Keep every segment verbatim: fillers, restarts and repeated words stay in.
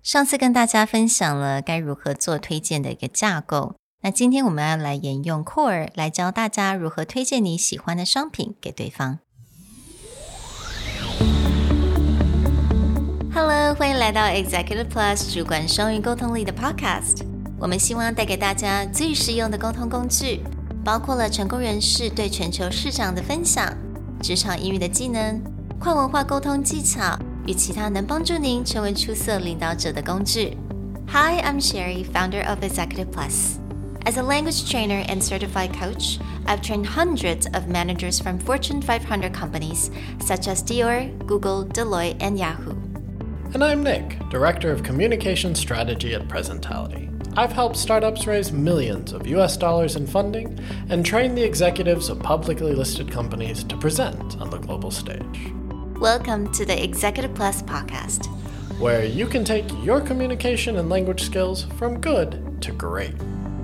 上次跟大家分享了該如何做推薦的一個架構，那今天我們要來沿用 Core 來教大家如何推薦你喜歡的商品給對方。Hello， 歡迎來到 Executive Plus 主管雙語溝通力的 Podcast。我們希望帶給大家最實用的溝通工具，包括了成功人士對全球市場的分享、職場英語的技能、跨文化溝通技巧與其他能幫助您成為出色領導者的工具。Hi, I'm Sherry, founder of Executive Plus. As a language trainer and certified coach, I've trained hundreds of managers from Fortune five hundred companies such as Dior, Google, Deloitte, and Yahoo. And I'm Nick, Director of Communication Strategy at Presentality. I've helped startups raise millions of U S dollars in funding and train the executives of publicly listed companies to present on the global stage. Welcome to the Executive Plus podcast, where you can take your communication and language skills from good to great.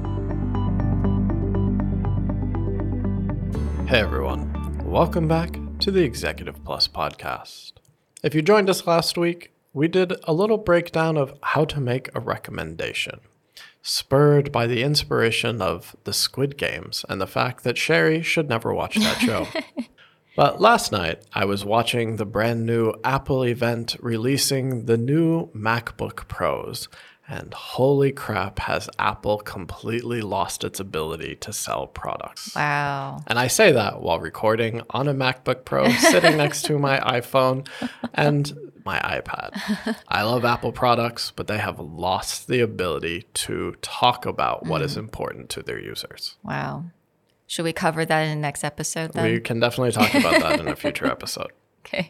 Hey everyone, welcome back to the Executive Plus podcast. If you joined us last week, we did a little breakdown of how to make a recommendation, spurred by the inspiration of the Squid Games and the fact that Sherry should never watch that show. But last night, I was watching the brand new Apple event releasing the new MacBook Pros, and holy crap, has Apple completely lost its ability to sell products. Wow. And I say that while recording on a MacBook Pro, sitting next to my iPhone and my iPad. I love Apple products, but they have lost the ability to talk about what mm. is important to their users. Wow. Should we cover that in the next episode then? We can definitely talk about that in a future episode. Okay.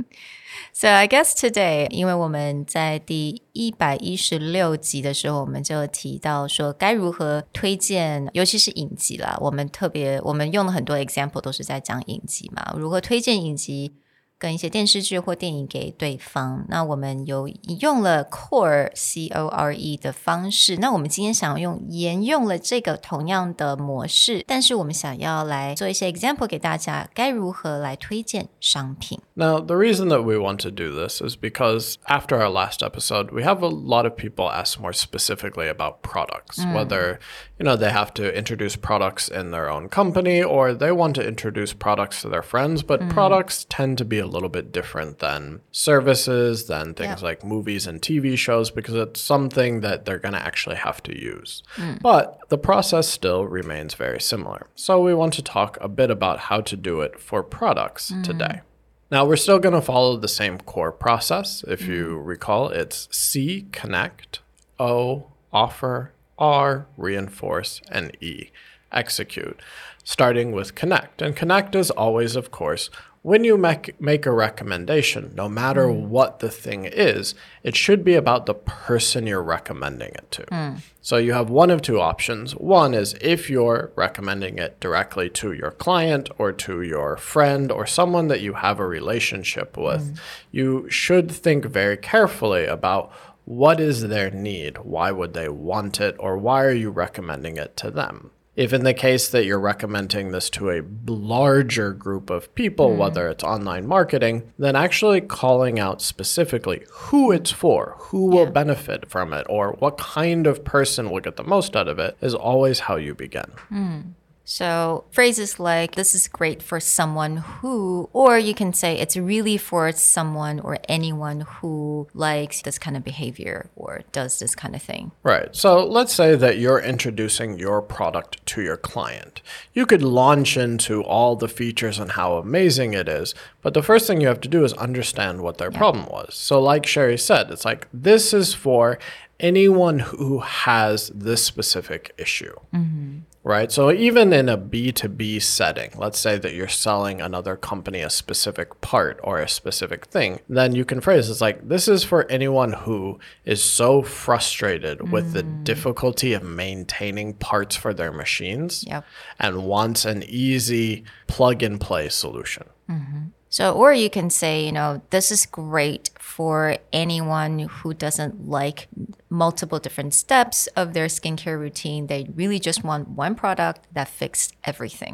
So I guess today, 因為我們在第一百一十六集的時候，我們就提到說該如何推薦，尤其是影集啦。我們特別，我們用了很多 example 都是在講影集嘛，如何推薦影集跟一些電視劇或電影給對方。那我們有用了 Core C O R E 的方式，那我們今天想要用沿用了這個同樣的模式，但是我們想要來做一些 example 給大家，該如何來推薦商品。 Now, the reason that we want to do this is because after our last episode, we have a lot of people ask more specifically about products, mm. whether, you know, they have to introduce products in their own company or they want to introduce products to their friends, but mm. products tend to be a little bit different than services, than things yep. like movies and T V shows, because it's something that they're going to actually have to use. Mm. But the process still remains very similar. So we want to talk a bit about how to do it for products mm. today. Now, we're still going to follow the same core process. If you mm. recall, it's C, connect, O, offer, R, reinforce, and E, execute, starting with connect. And connect is always, of course, when you make, make a recommendation, no matter mm. what the thing is, it should be about the person you're recommending it to. Mm. So you have one of two options. One is if you're recommending it directly to your client or to your friend or someone that you have a relationship with, mm. you should think very carefully about what is their need, why would they want it, or why are you recommending it to them? If in the case that you're recommending this to a larger group of people, mm. whether it's online marketing, then actually calling out specifically who it's for, who yeah. will benefit from it, or what kind of person will get the most out of it is always how you begin. Mm. So phrases like, this is great for someone who, or you can say it's really for someone or anyone who likes this kind of behavior or does this kind of thing. Right. So let's say that you're introducing your product to your client. You could launch into all the features and how amazing it is, but the first thing you have to do is understand what their yeah. problem was. So like Sherry said, it's like, this is for anyone who has this specific issue. Mm-hmm. Right? So even in a B two B setting, let's say that you're selling another company a specific part or a specific thing, then you can phrase it's like, this is for anyone who is so frustrated mm. with the difficulty of maintaining parts for their machines yep. and wants an easy plug-and-play solution. Mm-hmm. So, or you can say, you know, this is great for anyone who doesn't like multiple different steps of their skincare routine. They really just want one product that fixes everything.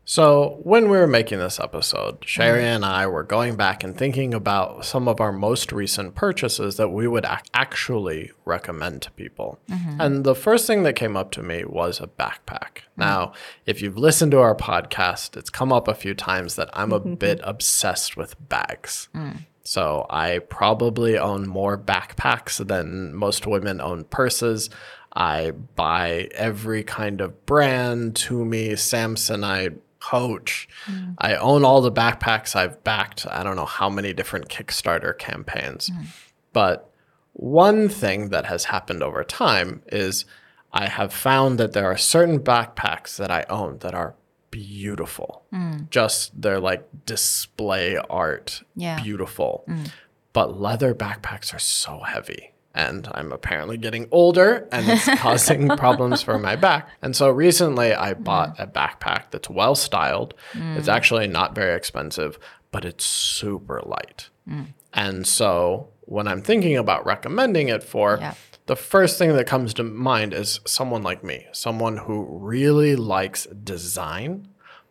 So when we were making this episode, Sherry and I were going back and thinking about some of our most recent purchases that we would ac- actually recommend to people. Mm-hmm. And the first thing that came up to me was a backpack. Mm-hmm. Now, if you've listened to our podcast, it's come up a few times that I'm a bit obsessed with bags. Mm. So I probably own more backpacks than most women own purses. I buy every kind of brand, Tumi, Samsonite, Coach. Mm. I own all the backpacks. I've backed, I don't know how many different Kickstarter campaigns. Mm. But one thing that has happened over time is I have found that there are certain backpacks that I own that are beautiful. Mm. Just they're like display art, yeah. beautiful. Mm. But leather backpacks are so heavy. And I'm apparently getting older and it's causing problems for my back. And so recently I bought mm. a backpack that's well styled. Mm. It's actually not very expensive, but it's super light. Mm. And so when I'm thinking about recommending it for, yeah. the first thing that comes to mind is someone like me, someone who really likes design,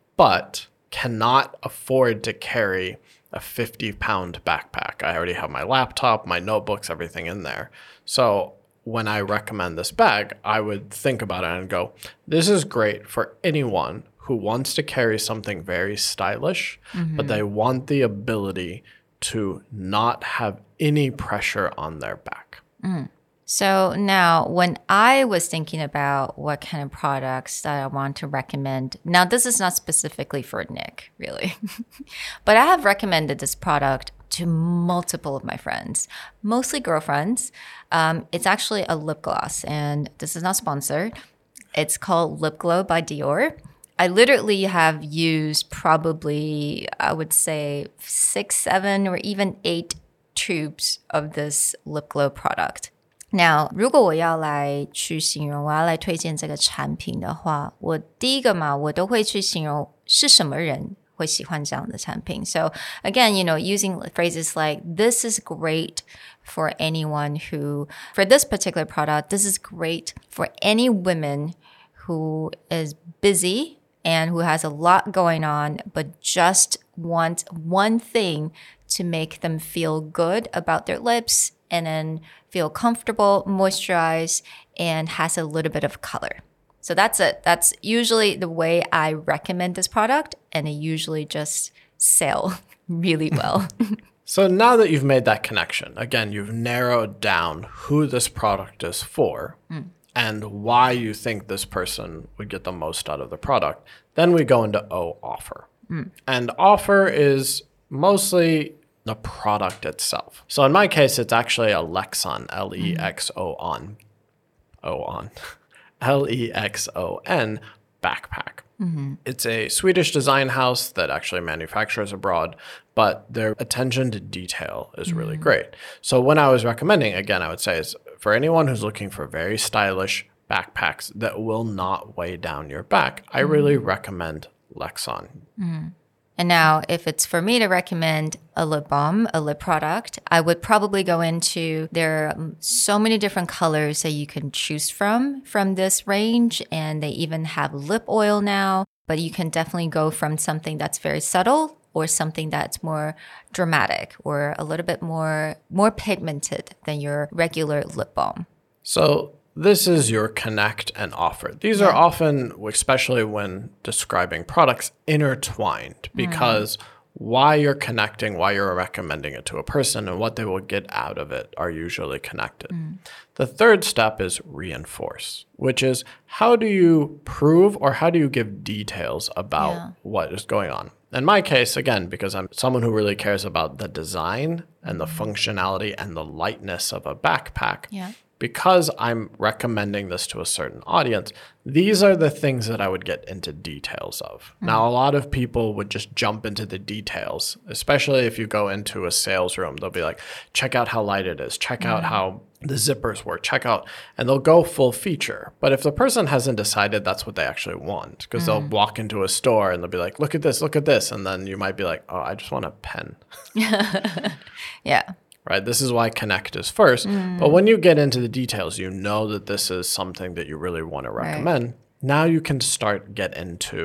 but cannot afford to carry a fifty pound backpack. I already have my laptop, my notebooks, everything in there. So when I recommend this bag, I would think about it and go, this is great for anyone who wants to carry something very stylish, mm-hmm. but they want the ability to not have any pressure on their back. Mm. So now when I was thinking about what kind of products that I want to recommend, now this is not specifically for Nick, really, but I have recommended this product to multiple of my friends, mostly girlfriends. Um, it's actually a lip gloss and this is not sponsored. It's called Lip Glow by Dior. I literally have used probably, I would say six, seven, or even eight tubes of this lip glow product. Now, 如果我要来去形容，我要来推荐这个产品的话，我第一個嘛，我都會去形容是什麼人會喜歡這樣的產品。So again, you know, using phrases like, this is great for anyone who, for this particular product, this is great for any woman who is busy and who has a lot going on, but just want one thing to make them feel good about their lips and then feel comfortable, moisturized, and has a little bit of color. So that's it. That's usually the way I recommend this product, and it usually just sell really well. So now that you've made that connection, again, you've narrowed down who this product is for mm. and why you think this person would get the most out of the product. Then we go into O, offer. Mm. And offer is mostly the product itself. So in my case, it's actually a Lexon, L E X O N, O on, L E X O N backpack. Mm-hmm. It's a Swedish design house that actually manufactures abroad, but their attention to detail is mm-hmm. really great. So when I was recommending, again, I would say is for anyone who's looking for very stylish backpacks that will not weigh down your back, I mm-hmm. really recommend Lexon. Mm-hmm. And now, if it's for me to recommend a lip balm, a lip product, I would probably go into, there are so many different colors that you can choose from, from this range. And they even have lip oil now. But you can definitely go from something that's very subtle or something that's more dramatic or a little bit more, more pigmented than your regular lip balm. So this is your connect and offer. These yeah. are often, especially when describing products, intertwined because mm. why you're connecting, why you're recommending it to a person, and what they will get out of it are usually connected. Mm. The third step is reinforce, which is how do you prove or how do you give details about yeah. what is going on? In my case, again, because I'm someone who really cares about the design and the functionality and the lightness of a backpack, yeah. because I'm recommending this to a certain audience, these are the things that I would get into details of. Mm. Now, a lot of people would just jump into the details, especially if you go into a sales room. They'll be like, check out how light it is. Check mm. out how the zippers work. Check out, and they'll go full feature. But if the person hasn't decided that's what they actually want, because mm. they'll walk into a store and they'll be like, look at this, look at this. And then you might be like, oh, I just want a pen. Yeah. Right? This is why connect is first. Mm. But when you get into the details, you know that this is something that you really want to recommend. Right. Now you can start get into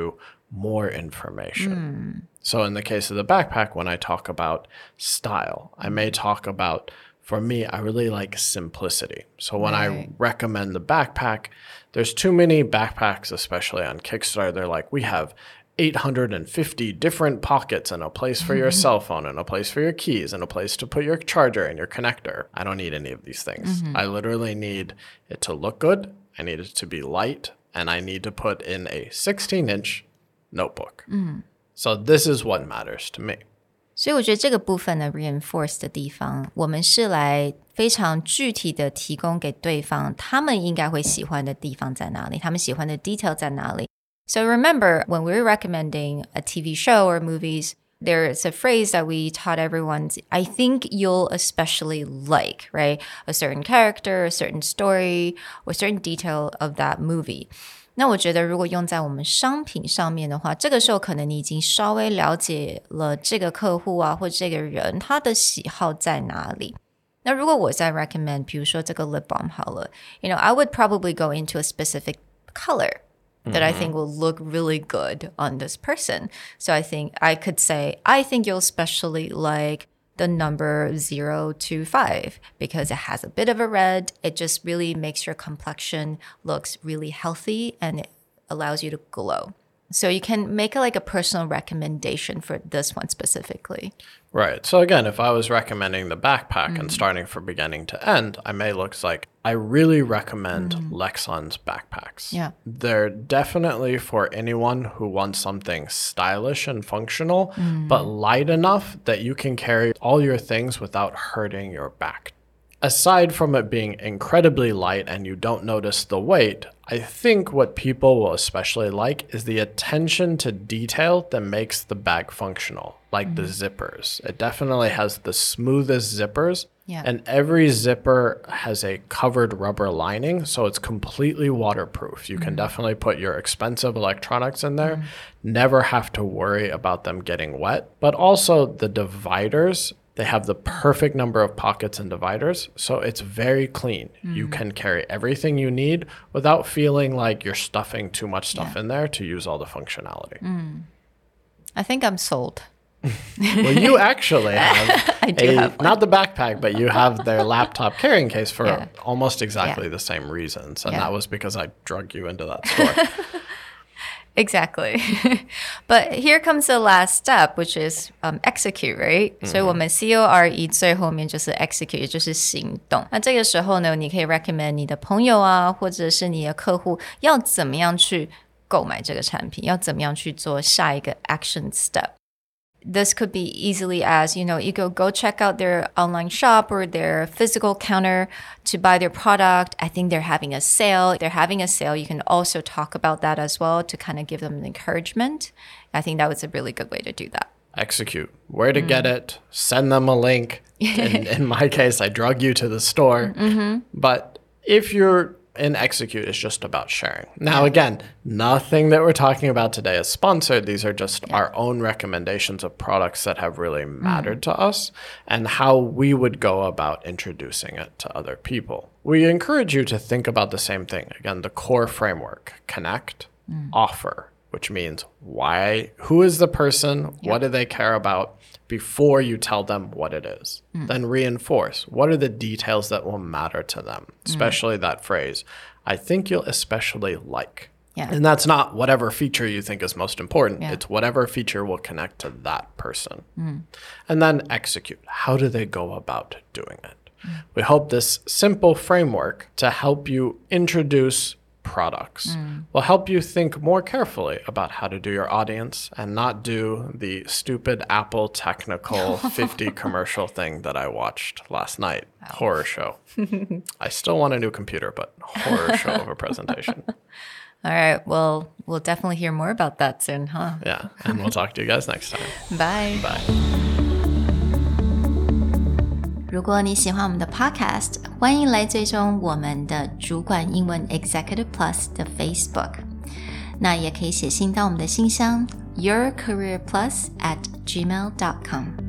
more information. Mm. So in the case of the backpack, when I talk about style, I may talk about, for me, I really like simplicity. So when right. I recommend the backpack, there's too many backpacks, especially on Kickstarter. They're like, we have eight hundred fifty different pockets and a place for your cell phone and a place for your keys and a place to put your charger and your connector. I don't need any of these things. Mm-hmm. I literally need it to look good. I need it to be light. And I need to put in a sixteen inch notebook. Mm. So this is what matters to me. 所以我觉得这个部分的 reinforce 的地方，我們是來非常具體的提供給對方他們應該會喜歡的地方在哪裡，他們喜歡的 detail 在哪裡。So remember, when we're recommending a T V show or movies, there's a phrase that we taught everyone, I think you'll especially like, right? A certain character, a certain story, or a certain detail of that movie. 那我覺得如果用在我們商品上面的話，這個時候可能你已經稍微了解了這個客戶啊，或這個人他的喜好在哪裡。那如果我在 recommend, 比如說這個 lip balm 好了 you know, I would probably go into a specific color that I think will look really good on this person. So I think I could say, I think you'll especially like the number zero to five because it has a bit of a red. It just really makes your complexion looks really healthy and it allows you to glow. So you can make a, like a personal recommendation for this one specifically. Right. So again, if I was recommending the backpack mm. and starting from beginning to end, I may look like I really recommend mm. Lexon's backpacks. Yeah. They're definitely for anyone who wants something stylish and functional, mm. but light enough that you can carry all your things without hurting your back. Aside from it being incredibly light and you don't notice the weight, I think what people will especially like is the attention to detail that makes the bag functional, like mm-hmm. the zippers. It definitely has the smoothest zippers, yeah. and every zipper has a covered rubber lining, so it's completely waterproof. You mm-hmm. can definitely put your expensive electronics in there, mm-hmm. never have to worry about them getting wet. But also the dividers, they have the perfect number of pockets and dividers, so it's very clean. Mm. You can carry everything you need without feeling like you're stuffing too much stuff yeah. in there to use all the functionality. Mm. I think I'm sold. Well, you actually have, I do a, have one. Not the backpack, but you have their laptop carrying case for yeah. almost exactly yeah. the same reasons. And yeah. that was because I drug you into that store. Exactly. But here comes the last step, which is um, execute, right? Mm-hmm. 所以我們 C O R E 最後面就是 execute， 也就是行動。那這個時候呢，你可以 recommend 你的朋友啊，或者是你的客戶要怎麼樣去購買這個產品，要怎麼樣去做下一個 action step. This could be easily as, you know, you go, go check out their online shop or their physical counter to buy their product. I think they're having a sale. If they're having a sale, you can also talk about that as well to kind of give them an encouragement. I think that was a really good way to do that. Execute. Where to mm. get it. Send them a link. In, in my case, I drug you to the store. Mm-hmm. But if you're in execute, it's just about sharing. Now, again, nothing that we're talking about today is sponsored. These are just yeah. our own recommendations of products that have really mattered mm. to us and how we would go about introducing it to other people. We encourage you to think about the same thing. Again, the core framework, connect, mm. offer, which means why, who is the person, yep. what do they care about before you tell them what it is. Mm. Then reinforce, what are the details that will matter to them, especially mm. that phrase, I think you'll especially like. Yeah. And that's not whatever feature you think is most important. Yeah. It's whatever feature will connect to that person. Mm. And then execute. How do they go about doing it? Mm. We hope this simple framework to help you introduce products mm. will help you think more carefully about how to do your audience and not do the stupid Apple technical fifty commercial thing that I watched last night. Wow. Horror show. I still want a new computer, but horror show of a presentation. All right. Well, we'll definitely hear more about that soon, huh? Yeah. And we'll talk to you guys next time. Bye. Bye. 如果你喜歡我們的 podcast， 歡迎來追蹤我們的主管英文 Executive Plus 的 Facebook。那也可以寫信到我們的信箱 your career plus at gmail dot com。